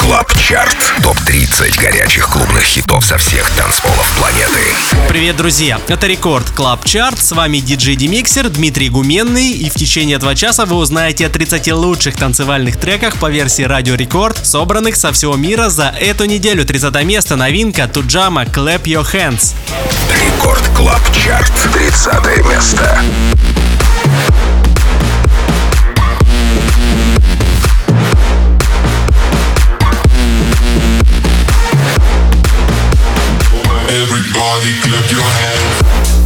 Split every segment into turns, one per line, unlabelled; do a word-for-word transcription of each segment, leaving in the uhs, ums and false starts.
Клаб Чарт. топ тридцать горячих клубных хитов со всех танцполов планеты.
Привет, друзья! Это Рекорд Клаб Чарт. С вами диджей Демиксер Дмитрий Гуменный. И в течение этого часа вы узнаете о тридцати лучших танцевальных треках по версии Радио Рекорд, собранных со всего мира за эту неделю. тридцатое место. Новинка Туджама Clap Your Hands.
Рекорд Клаб Чарт. тридцатое место.
Everybody clap your hands.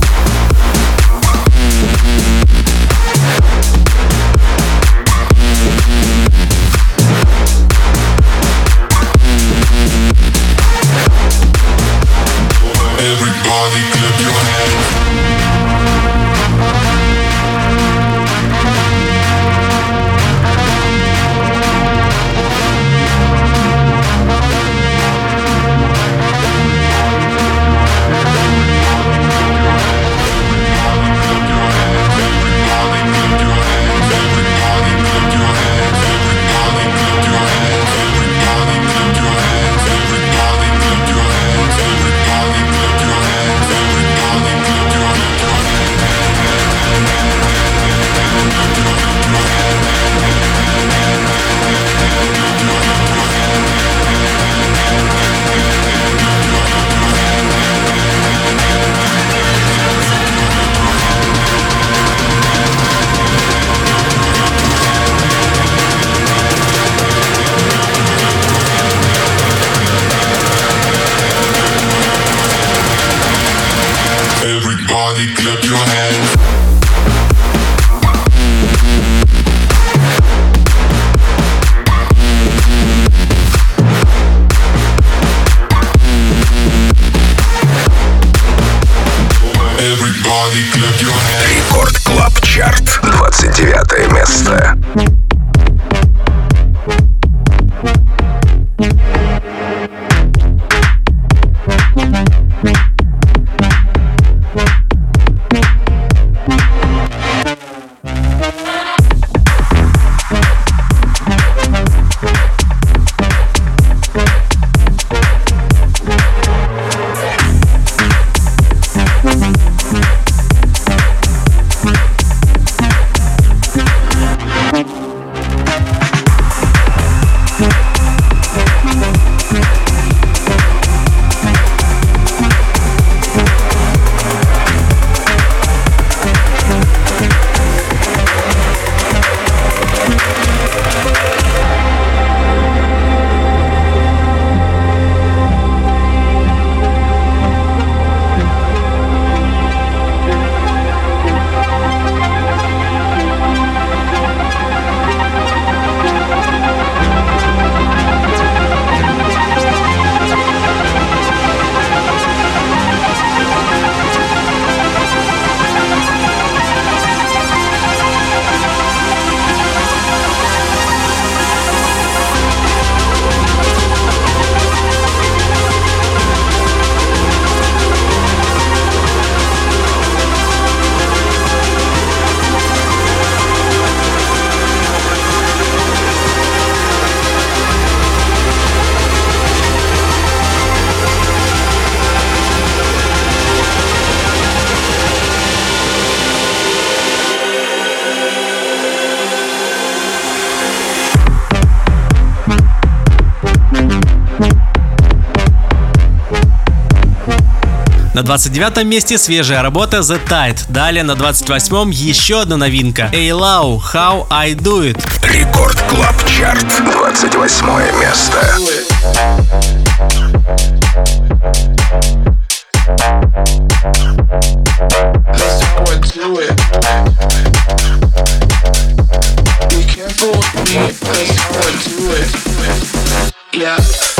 Everybody clap your hands. Everybody clap your hands. Everybody clap your hands.
Рекорд Клаб Чарт. двадцать девятое место.
На двадцать девятом месте свежая работа The Tide. Далее на двадцать восьмом еще одна новинка A-Low How I Do It.
Рекорд Клаб Чарт. двадцать восьмое место.
Yeah.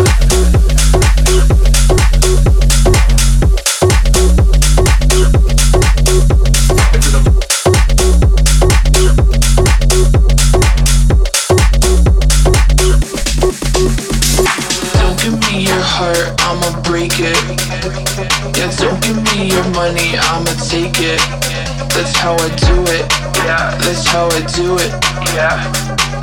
I'ma break it. Yeah, don't give me your money, I'ma take it. That's how I do it. Yeah, that's how I do it. Yeah.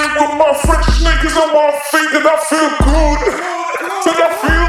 sit with my French niggas on my feet and I feel good. And I feel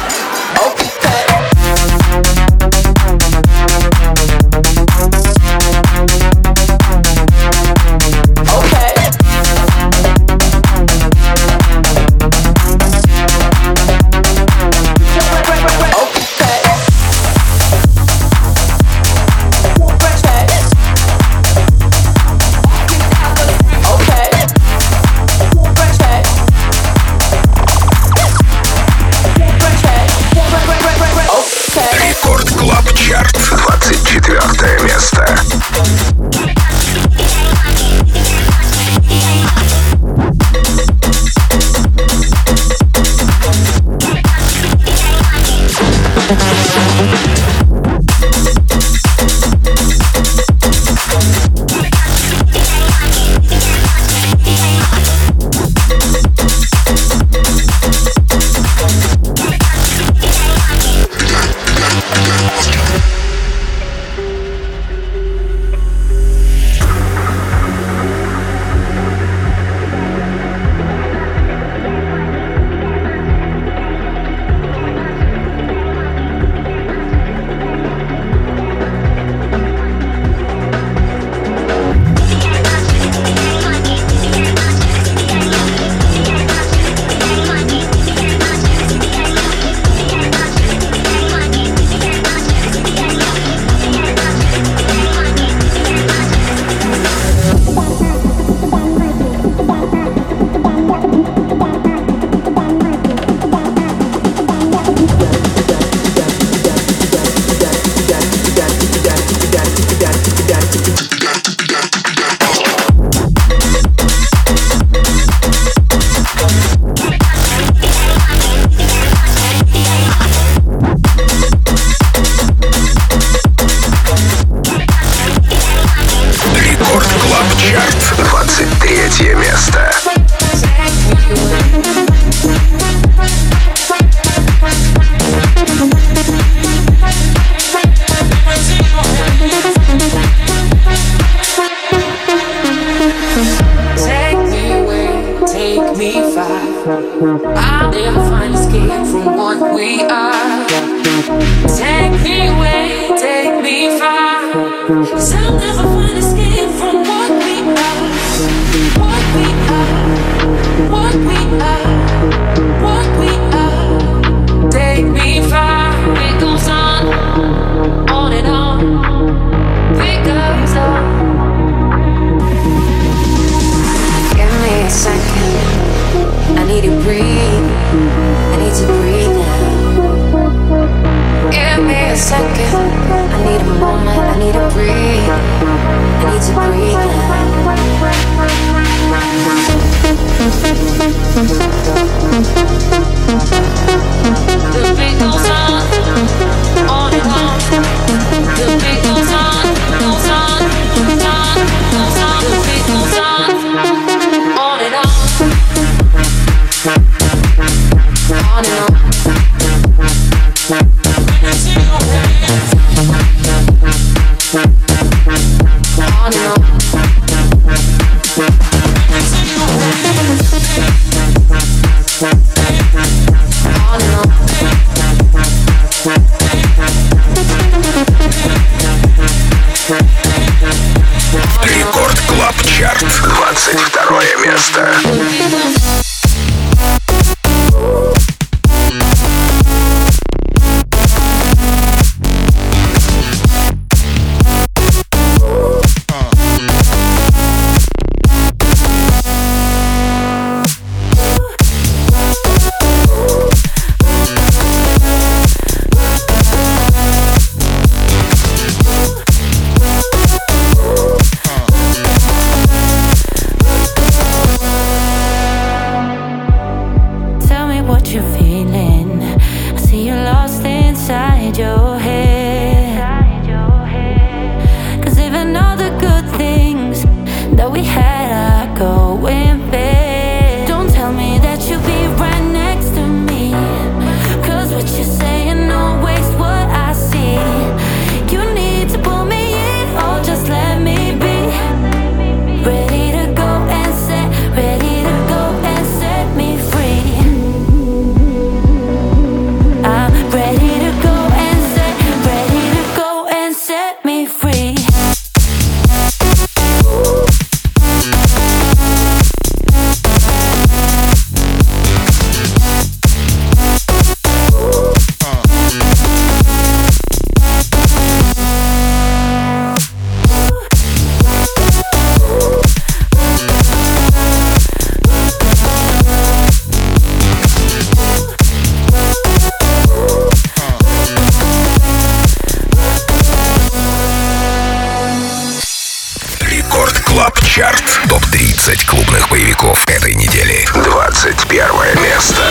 двадцать четвёртое место. двадцать третье место.
Take me away, take me far. I'll never find escape from what we are. Take me away, take me far. 'Cause I'll never find escape from what we are. What we are, what we are, what we are. Take me far. It goes on, on and on. It goes on. Give me a second. I need to breathe. I need to breathe now. Give me a second. I need a moment. I need to breathe. I need to breathe now. The beat goes on, on and on. The beat goes on, goes on, goes on, goes on. The beat goes on, on and on, on and on. On and on.
Рекорд Клаб Чарт, двадцать второе место. этой недели. двадцать первое место.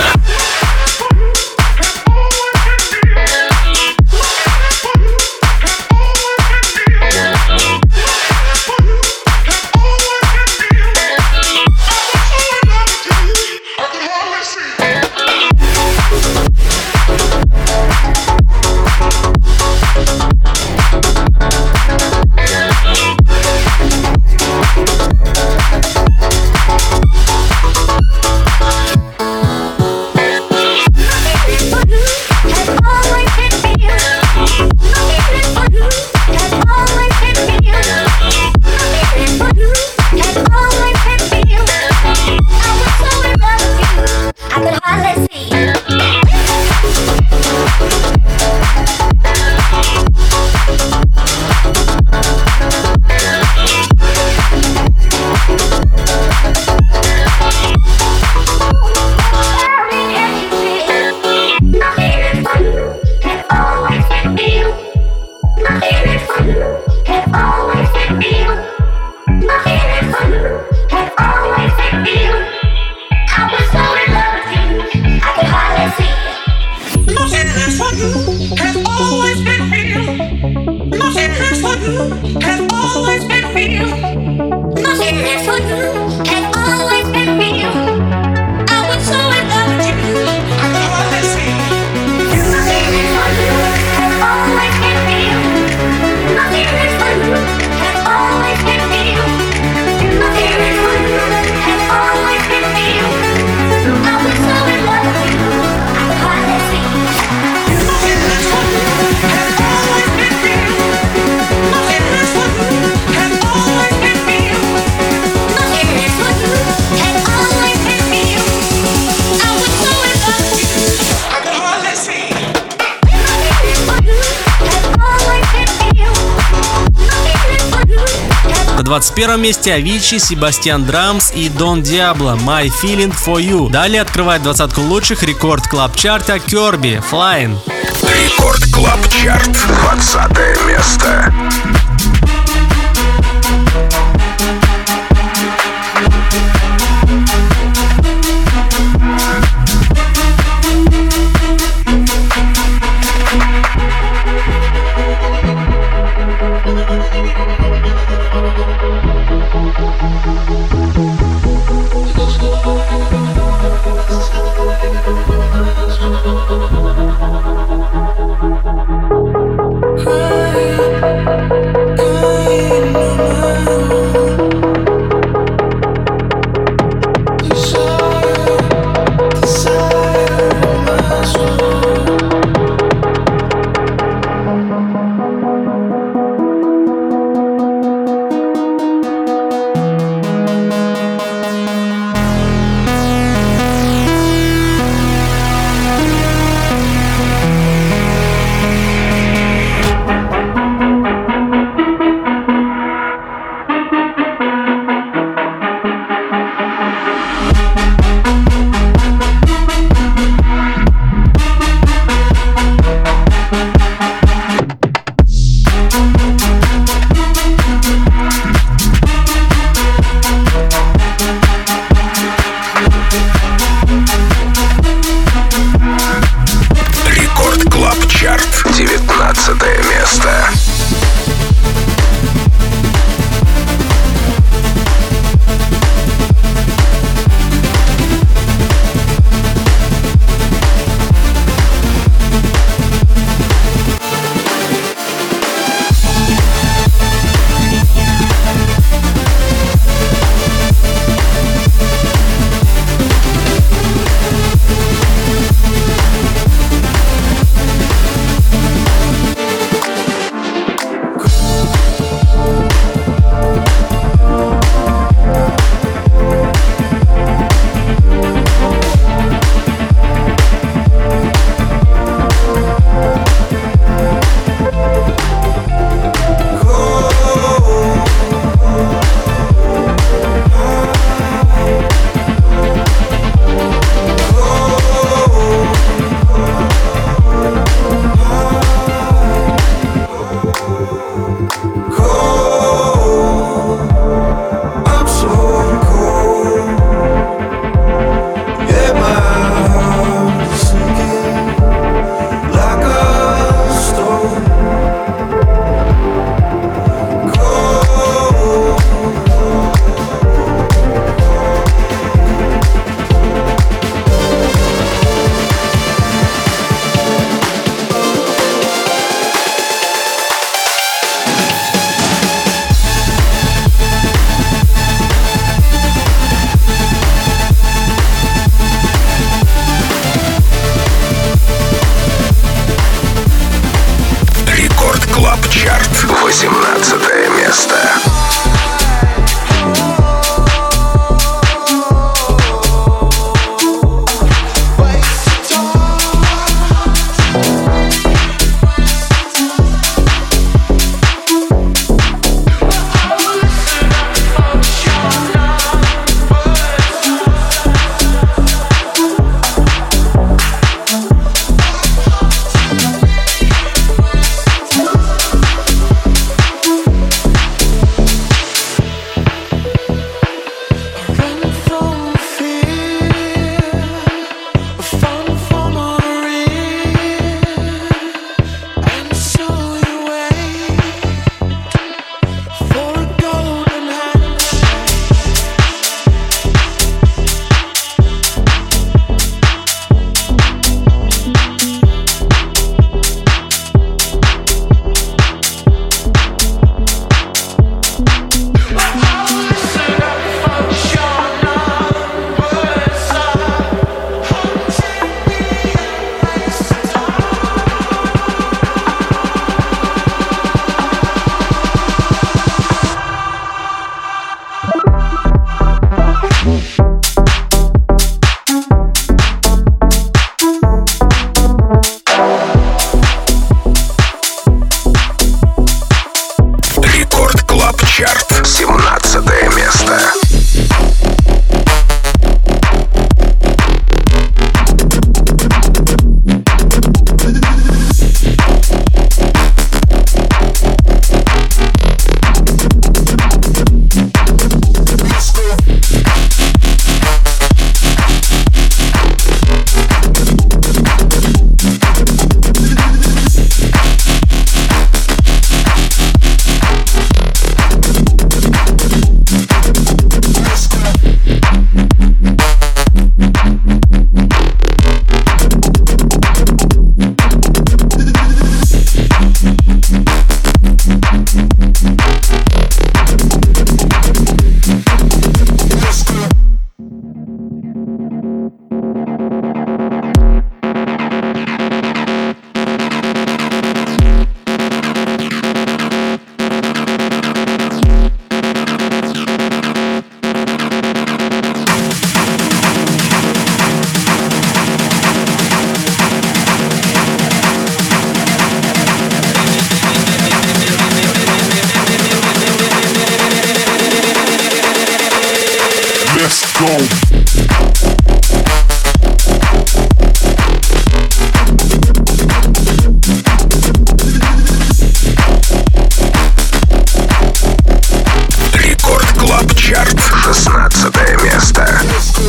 На двадцать первом месте Avicii, Себастьян Драмс и Don Diablo My Feeling For You. Далее открывает двадцатку лучших рекорд клаб чарта Kirby Flying.
Рекорд Клаб Чарт, двадцатое место.
Cry.
шестнадцатое место.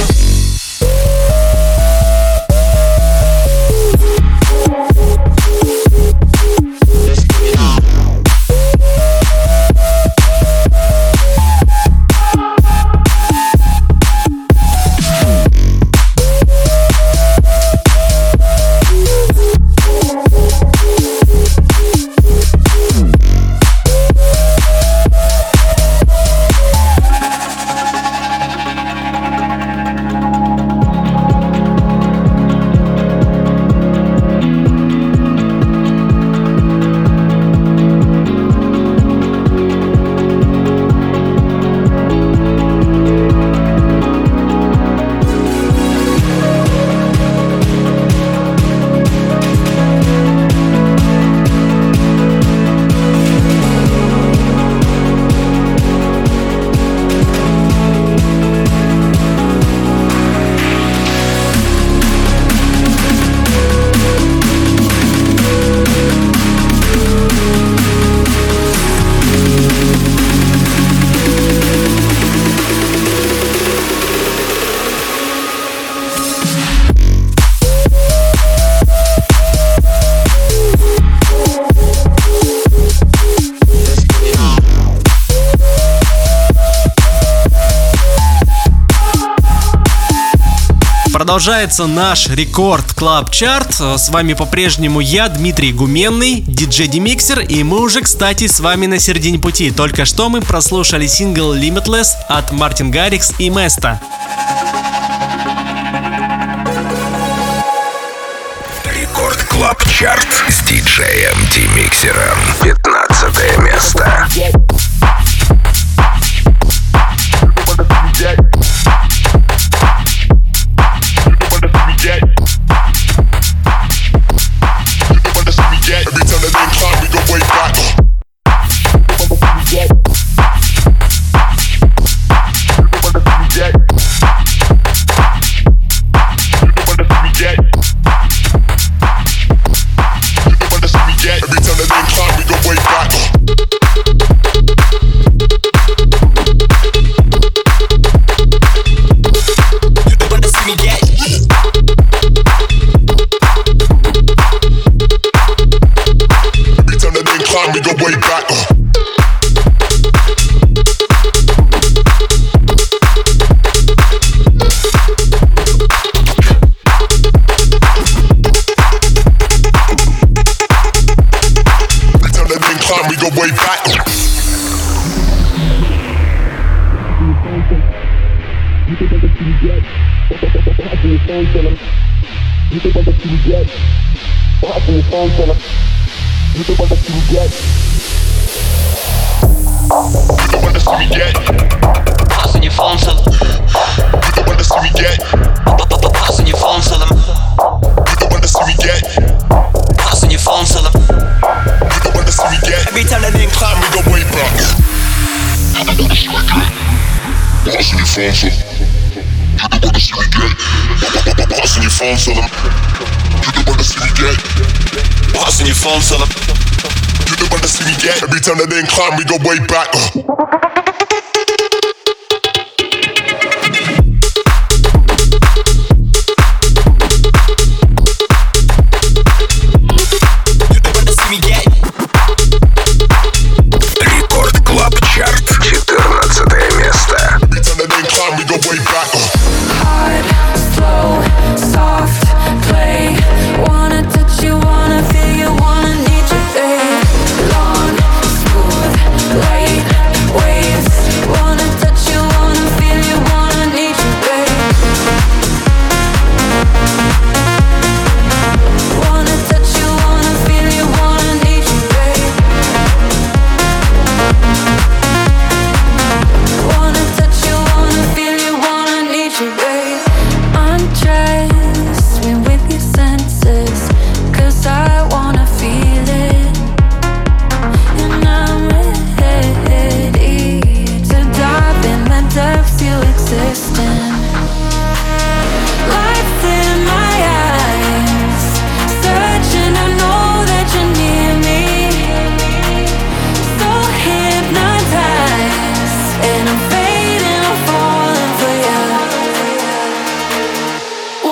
Продолжается наш Рекорд Клаб Чарт. С вами по-прежнему я, Дмитрий Гуменный, диджей Демиксер, и мы уже, кстати, с вами на середине пути. Только что мы прослушали сингл Limitless от Мартин Гаррикс и Места.
Рекорд Клаб Чарт с диджеем Демиксером. пятнадцатое место.
Every time the name climb, we go way back. Every time the name climb, we go way back. We go way back. Uh. Every time that thing climb, we go way back. Uh. You the one that you get. You the one that see me get.
Pass on your phone to them.
You the one that see me get.
Pass on your phone to them.
You the one that see me get.
Pass on your phone to them.
You the one that see me get.
Every time that thing climb,
we go way back. You the one that see me get. Pass on your phone to them. You the one that see me get. Pass on your phone to them. You the one that see me get.
Pass on your phone to them.
You the one that see me get. Every time that they climb, we go way back. Uh.
Рекорд Клаб Чарт, четырнадцатое место.
Every time that they climb, we go way back. Uh.
Hard, slow, soft play. Wanna touch you, wanna feel you, wanna need you, babe. Long, smooth, light waves.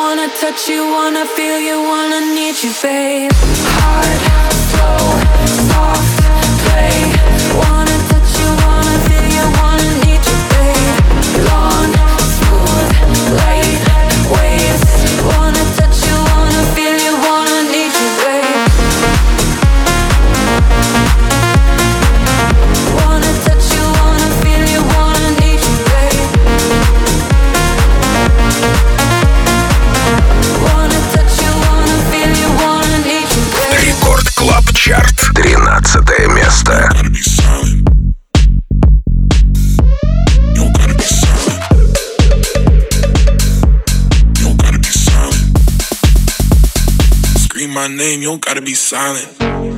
wanna touch you, wanna feel you, wanna need you, babe. Hard, slow, soft, play. Wanna touch you, wanna feel you, wanna need you, babe. Long, smooth, light, waves. Wanna touch you, wanna feel you, wanna need you, babe. Wanna touch you, wanna feel you, wanna need you, babe. Wanna touch you, wanna feel you, wanna need you, babe.
Рекорд Клаб Чарт, тринадцатое место.
Scream my name, you don't gotta be silent.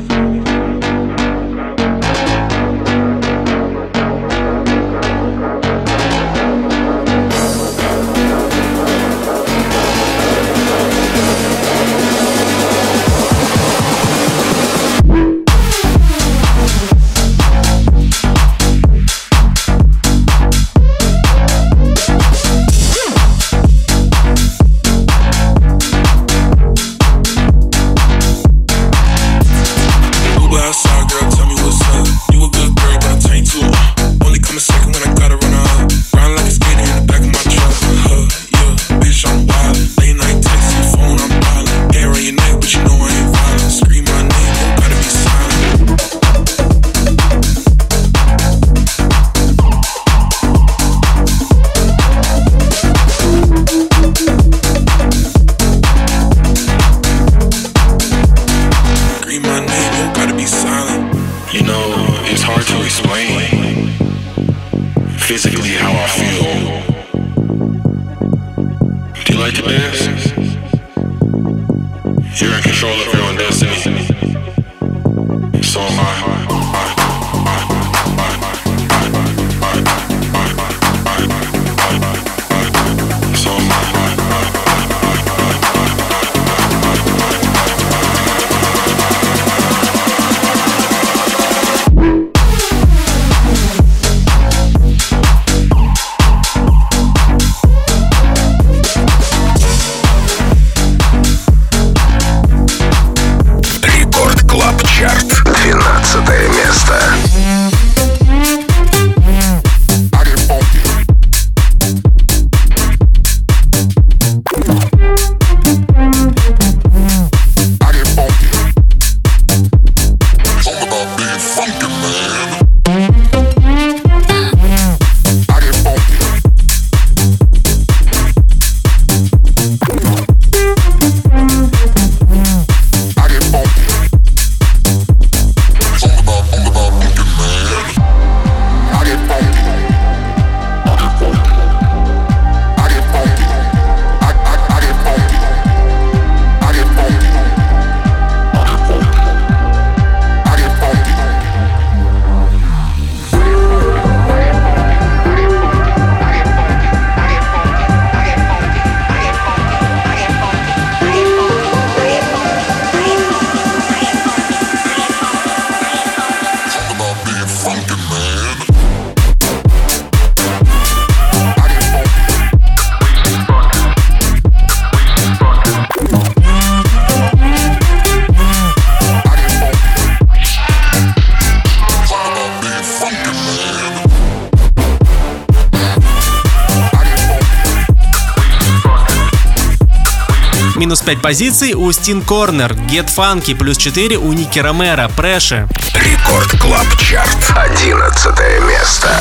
Минус пять позиций у Стин Корнер, Get Funky, плюс четыре у Ники Ромеро, Pressure.
Рекорд Клаб Чарт, одиннадцатое место.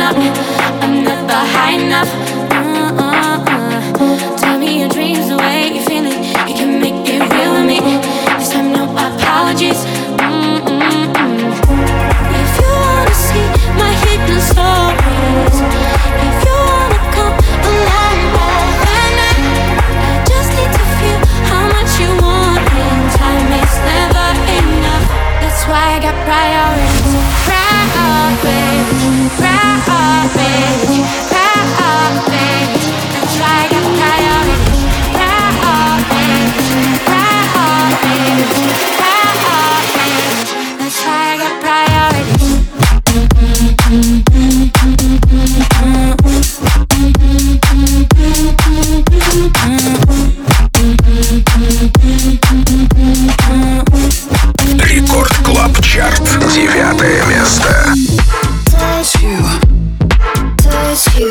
not, I'm never high enough. Uh-uh-uh. Tell me your dreams, the way you feel it. You can make it real with me. This time no apologies. Mm-mm-mm. If you wanna see my hidden stories, if you wanna come along, then I, I just need to feel how much you want me. Time is never enough. That's why I got priorities. Priorities, priorities, priorities. That's why I got priorities. Priorities, priorities, priorities. That's why I got priorities.
Рекорд Клаб Чарт. Девятое место.
Touch you, touch you,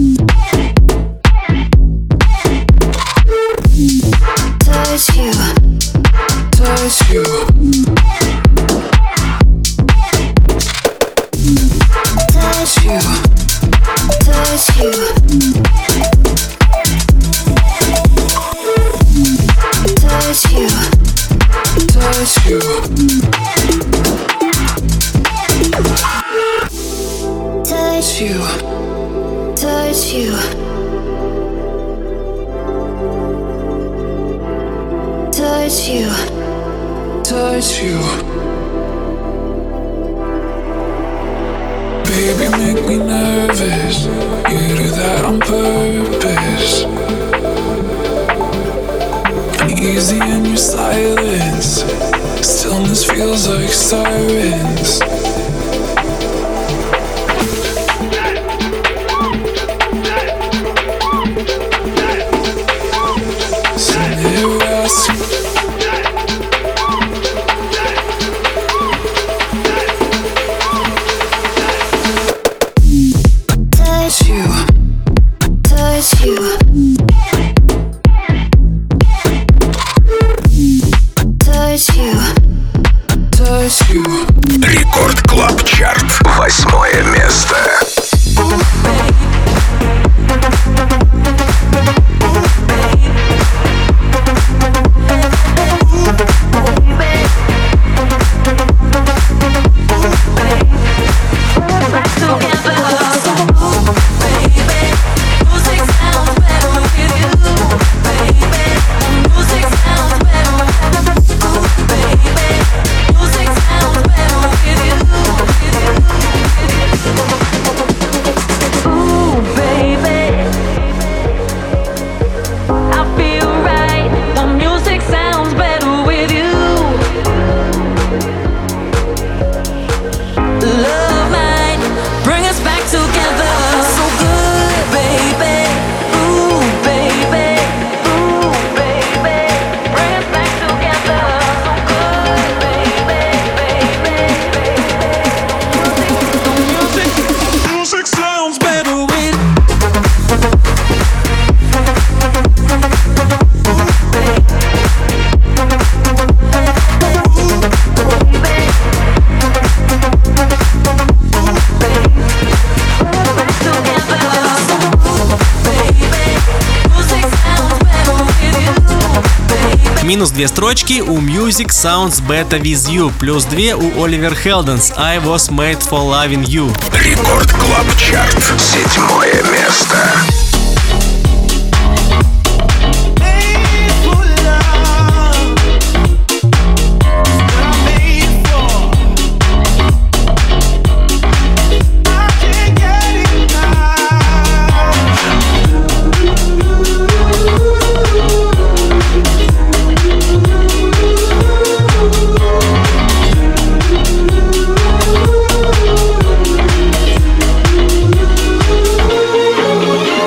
touch you, touch you, touch you, touch you, touch you, touch you. Touch you, touch you, touch you, touch you. Baby, make me nervous. You do that on purpose. Easy in your silence. Stillness feels like sirens.
Рекорд Клаб Чарт. Восьмое место.
Минус две строчки у Music Sounds Better With You, плюс две у Оливер Хелденс I Was Made For Loving You.
Рекорд Клаб Чарт. Седьмое место.
We'll be right back.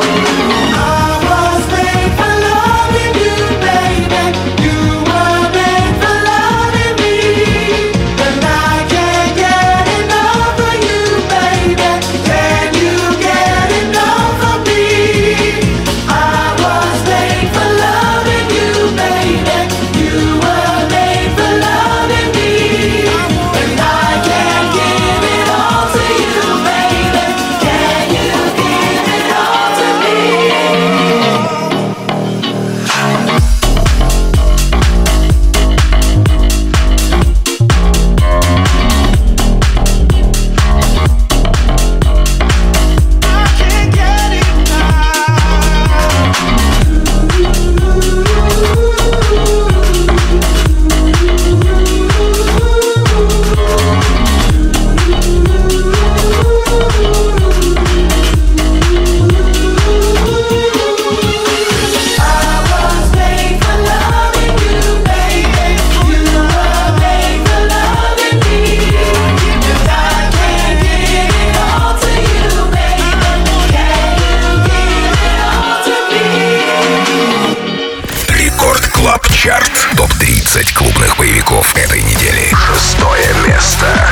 Чарт. топ тридцать клубных боевиков этой недели. Шестое место.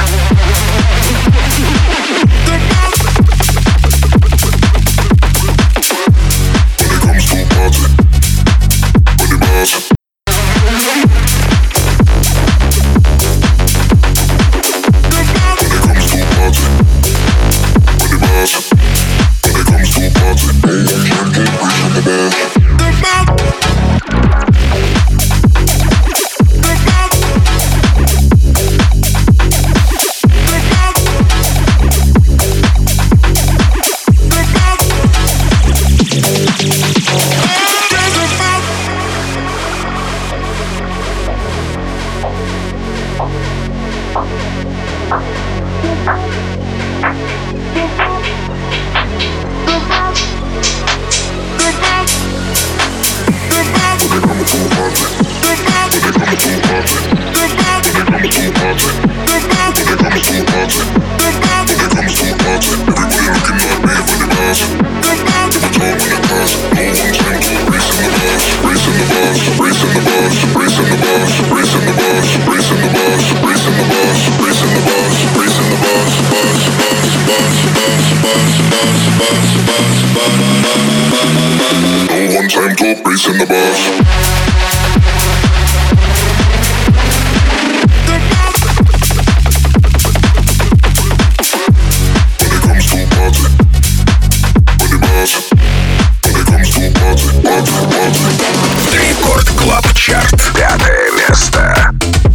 Рекорд Клаб Чарт. Пятое место.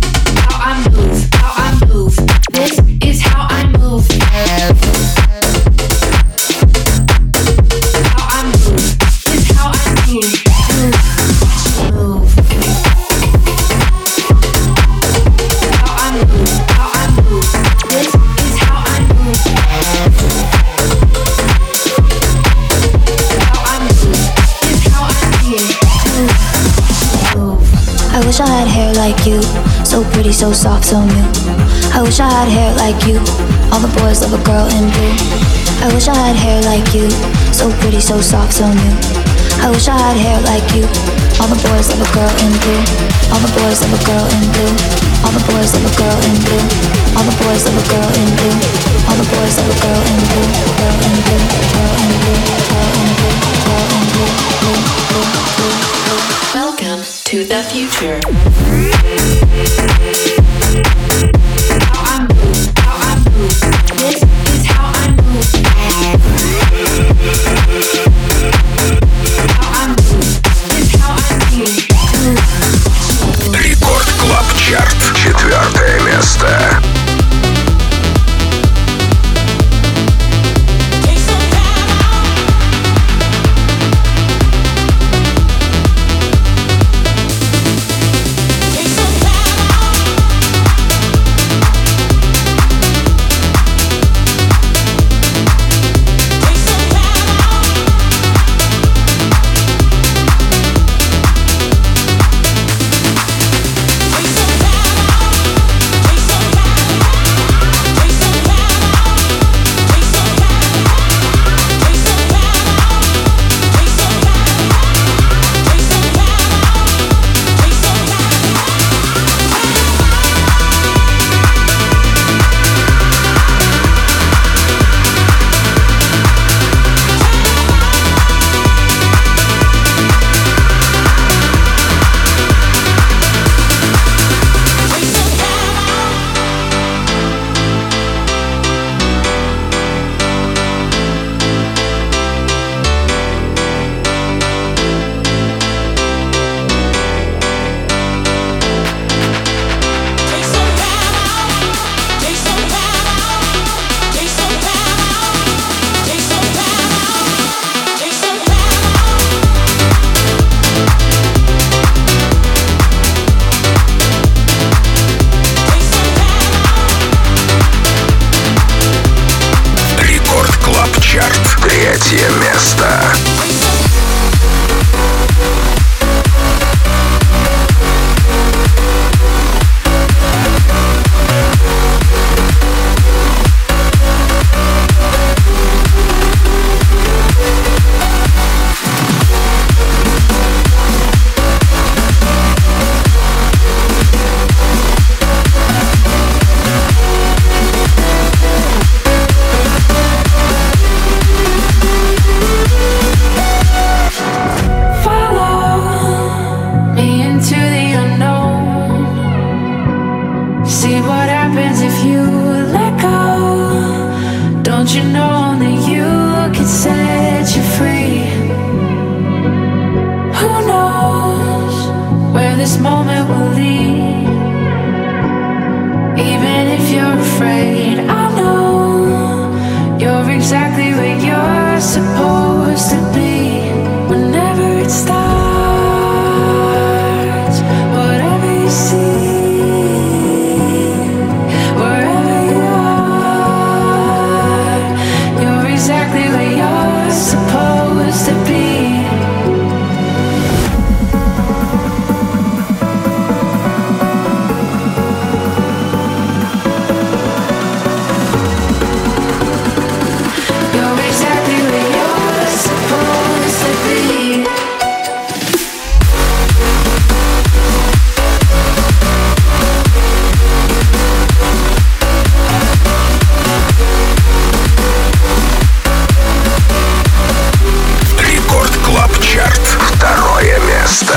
I wish I had hair like you, so pretty, so soft, so new. I wish I had hair like you, all the boys love a girl in blue. I wish I had hair like you, so pretty, so soft, so new. I wish I had hair like you, all the boys love a girl in blue. All the boys love a girl in blue. All the boys love a girl in blue. All the boys love a girl in blue. All the boys love a girl in blue. Girl in blue, girl in blue, girl in blue, girl in blue, blue, blue, blue, blue.
Welcome to the future. How I move, how I move. This is how I move. How I move, this how I feel.
Рекорд Клаб Чарт. Четвертое место.
set you free. Who knows where this moment will lead? Even if you're afraid, I know you're exactly where you're supposed to be. Whenever it starts, whatever you see, wherever you are, you're exactly where you're supposed to be. You're exactly where you're supposed to be.
Рекорд Клаб Чарт. Второе место.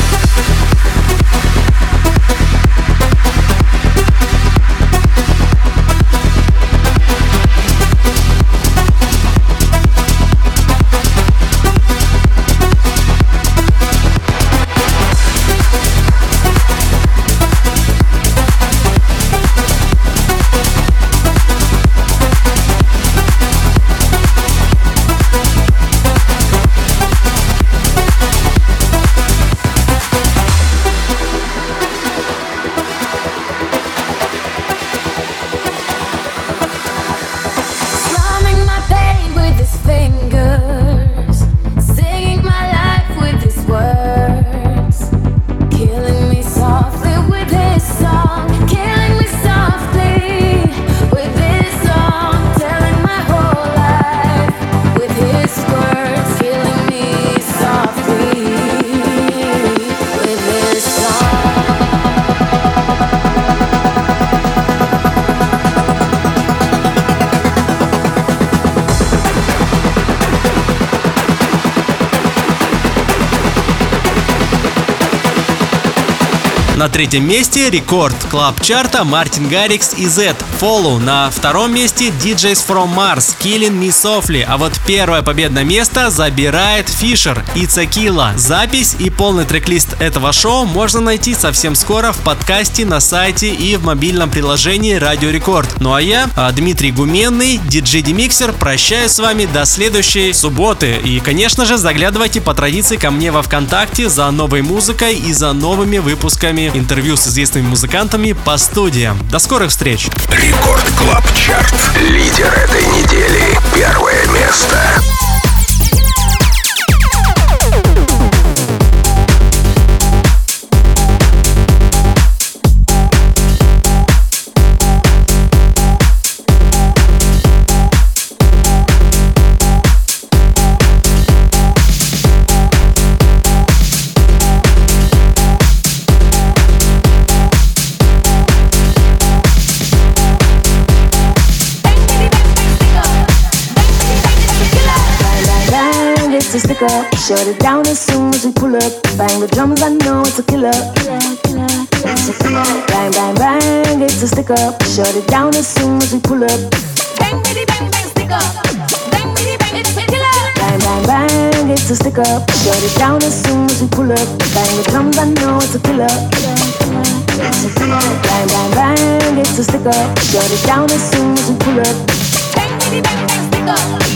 Strumming my pain with his fingers, singing my life with his words, killing me softly with his song, killing me softly with his song, telling my whole life with his words, killing me softly with his song.
На третьем месте рекорд клаб чарта Мартин Гаррикс и Z Follow. На втором месте ди джейс from Mars Killing Me Softly. А вот первое победное место забирает Фишер и Цакила. Запись и полный трек-лист этого шоу можно найти совсем скоро в подкасте, на сайте и в мобильном приложении Радио Рекорд. Ну а я, Дмитрий Гуменный, диджей Демиксер, прощаюсь с вами до следующей субботы. И, конечно же, заглядывайте по традиции ко мне во ВКонтакте за новой музыкой и за новыми выпусками интервью с известными музыкантами по студиям. До скорых встреч!
Рекорд Клаб Чарт. Лидер этой недели. Первое место.
It's a stick up, shut it down as soon as we pull up. Bang the drums, I know it's a killer. It's a killer. Bang, bang, bang, it's a stick up, shut it down as soon as we pull up.
Bang, bitty, bang, bang, stick up. Bang, bitty, bang, it's a killer.
Bang, bang, bang, it's a stick up, shut it down as soon as we pull up. Bang the drums, I know it's a killer. It's a killer. Bang, bang, bang, it's a stick up, shut it down as soon as we pull up.
Bang, bitty, bang, bang, stick up.